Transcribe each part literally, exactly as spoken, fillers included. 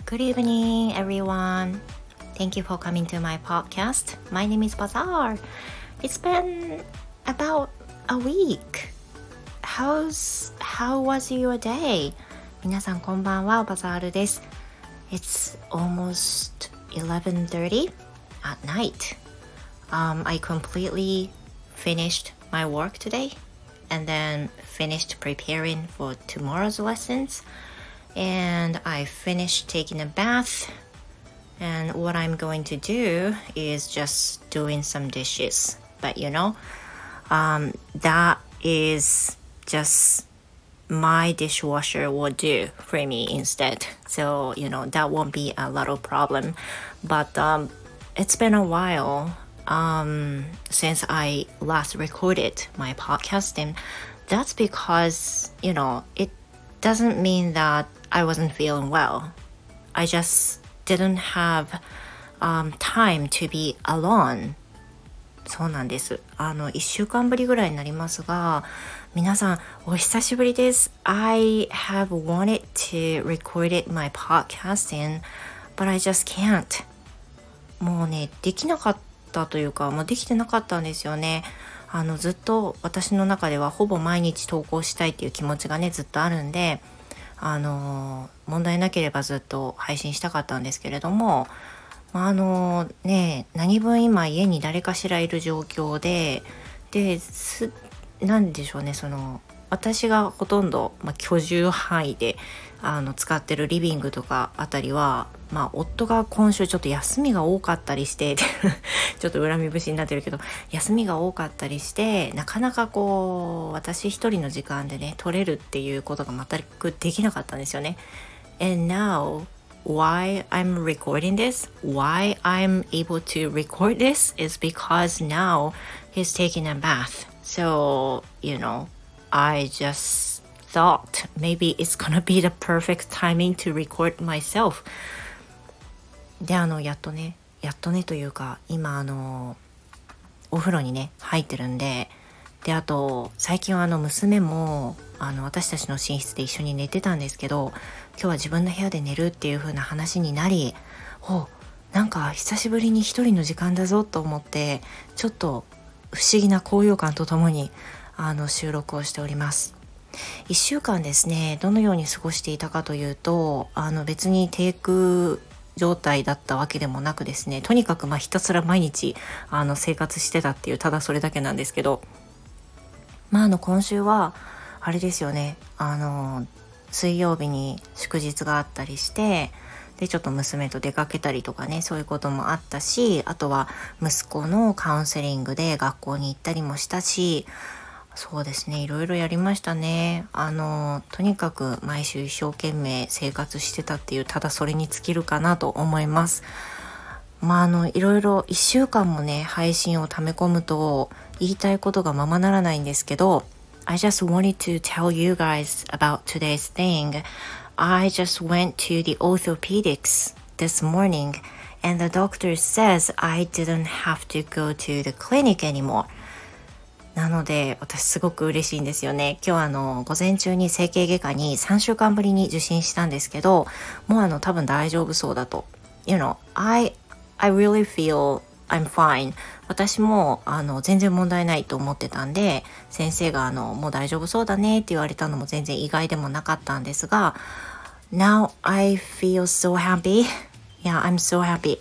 Good evening, everyone. Thank you for coming to my podcast. My name is Bazaar. It's been about a week. How's, how was your day? 皆さんこんばんは、バザールです。It's almost eleven thirty at night. Um, I completely finished my work today and then finished preparing for tomorrow's lessons.And I finished taking a bath, and what I'm going to do is just doing some dishes. But you know, um, that is just my dishwasher will do for me instead. So, you know, that won't be a lot of problem. But um, it's been a while um, since I last recorded my podcast, and that's because, you know, it doesn't mean that I wasn't feeling well. I just didn't have um, time to be alone. そうなんです。あの、いっしゅうかんぶりぐらいになりますが、皆さんお久しぶりです。I have wanted to record it my podcasting, but I just can't. もうね、できなかったというか、もうできてなかったんですよね。あの、ずっと私の中ではほぼ毎日投稿したいっていう気持ちがね、ずっとあるんで、あの問題なければずっと配信したかったんですけれども、あのね何分今家に誰かしらいる状況で、ですなんでしょうね、その私がほとんど、まあ、居住範囲であの使ってるリビングとかあたりは、まあ、夫が今週ちょっと休みが多かったりしてちょっと恨み節になってるけど、休みが多かったりしてなかなかこう私一人の時間でね取れるっていうことが全くできなかったんですよね。 And now why I'm recording this, why I'm able to record this is because now he's taking a bath. So, you know, I just thought maybe it's gonna be the perfect timing to record myself. で、あの、やっとね、やっとねというか、今、あの、お風呂にね、入ってるんで、で、あと、最近はあの、娘も、あの、私たちの寝室で一緒に寝てたんですけど、今日は自分の部屋で寝るっていう風な話になり、お、なんか久しぶりに一人の時間だぞと思って、ちょっと不思議な高揚感とともに、あの、収録をしております。一週間ですね、どのように過ごしていたかというと、あの、別にテイク状態だったわけでもなくですね、とにかくまあひたすら毎日あの生活してたっていう、ただそれだけなんですけど、まああの今週はあれですよね、あの水曜日に祝日があったりして、でちょっと娘と出かけたりとかね、そういうこともあったし、あとは息子のカウンセリングで学校に行ったりもしたし、そうですね、いろいろやりましたね。あのとにかく毎週一生懸命生活してたっていう、ただそれに尽きるかなと思います。まああのいろいろ一週間もね配信を溜め込むと言いたいことがままならないんですけど、 I just wanted to tell you guys about today's thing. I just went to the orthopedics this morning and the doctor says I didn't have to go to the clinic anymore.なので私すごく嬉しいんですよね。今日あの午前中に整形外科にさんしゅうかんぶりに受診したんですけど、もうあの多分大丈夫そうだと。You know, I, I really feel I'm fine. 私もあの全然問題ないと思ってたんで、先生があのもう大丈夫そうだねって言われたのも全然意外でもなかったんですが、Now I feel so happy. Yeah, I'm so happy.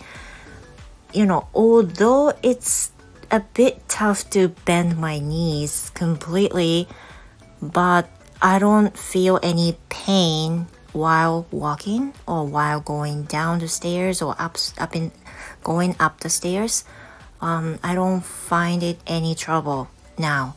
You know, although it's a bit tough to bend my knees completely, but I don't feel any pain while walking or while going down the stairs or up, up in, going up the stairs. Um, I don't find it any trouble now.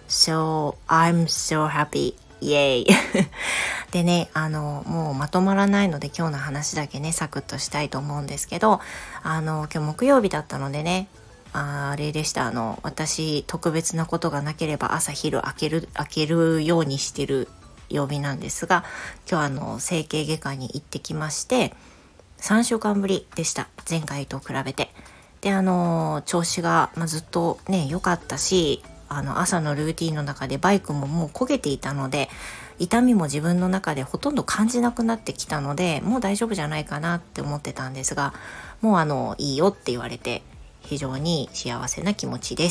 So I'm so happy. イエイでね、あのもうまとまらないので今日の話だけねサクッとしたいと思うんですけど、あの今日木曜日だったのでね、あ, あれでした。あの私特別なことがなければ朝昼開ける開けるようにしてる曜日なんですが、今日あの整形外科に行ってきまして、さんしゅうかんぶりでした、前回と比べて。であの調子が、まあ、ずっとね良かったし、あの朝のルーティンの中でバイクももう焦げていたので、 痛みも自分の中でほとんど感じなくなってきたので、もう大丈夫じゃないかなって思ってたんですが、もうあのいいよって言われて非常に幸せな気持ちです。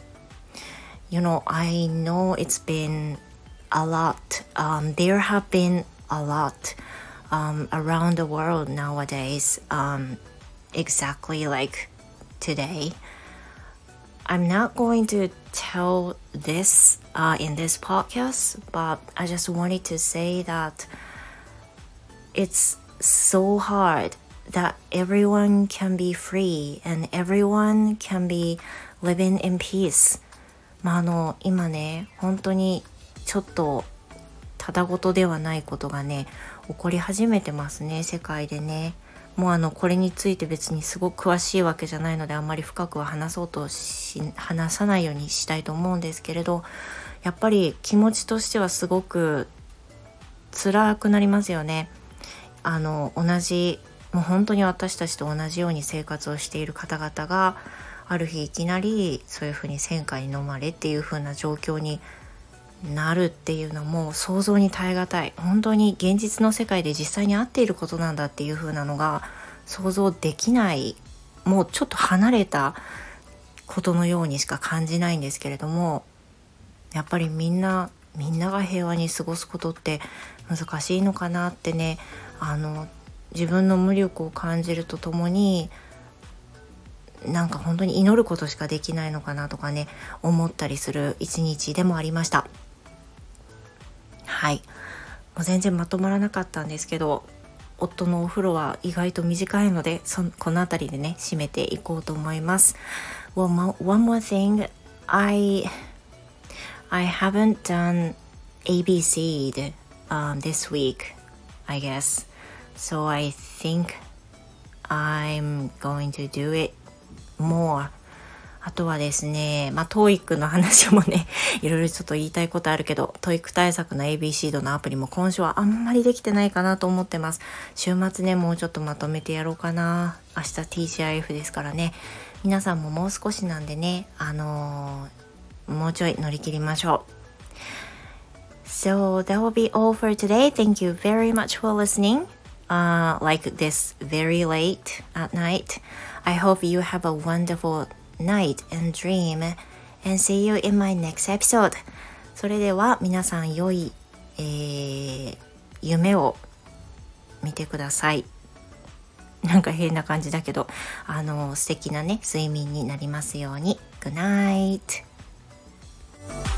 You know, I know it's been a lot. Um, there have been a lot um, around the world nowadays, um, exactly like today. I'm not going to tell this uh, in this podcast, but I just wanted to say that it's so hard that everyone can be free and everyone can be living in peace. まああの今ね、本当にちょっとただごとではないことがね起こり始めてますね、世界でね。もうあのこれについて別にすごく詳しいわけじゃないので、あんまり深くは話そうとし話さないようにしたいと思うんですけれど、やっぱり気持ちとしてはすごく辛くなりますよね。あの同じもう本当に私たちと同じように生活をしている方々がある日いきなりそういうふうに戦火に飲まれっていう風な状況になるっていうのも想像に耐え難い、本当に現実の世界で実際にあっていることなんだっていう風なのが想像できない、もうちょっと離れたことのようにしか感じないんですけれども、やっぱりみんなみんなが平和に過ごすことって難しいのかなってね、あの自分の無力を感じるとともに、なんか本当に祈ることしかできないのかなとかね思ったりする一日でもありました。はい、もう全然まとまらなかったんですけど、夫のお風呂は意外と短いので、そこのあたりでね締めていこうと思います。 Well, one more thing, I I haven't done エービーシーum, this week, I guess. So I think I'm going to do it more. あとはですね、まあ トーイック の話もねいろいろちょっと言いたいことあるけど、 トーイック 対策の エービーシー のアプリも今週はあんまりできてないかなと思ってます。週末ねもうちょっとまとめてやろうかな。明日 ティージーアイエフ ですからね、皆さんももう少しなんでね、あのー、もうちょい乗り切りましょう。So that will be all for today. Thank you very much for listening.Uh, like this very late at night. I hope you have a wonderful night and dream, and see you in my next episode. それでは皆さん良い、えー、夢を見てください。なんか変な感じだけど、あの素敵なね睡眠になりますように。Good night.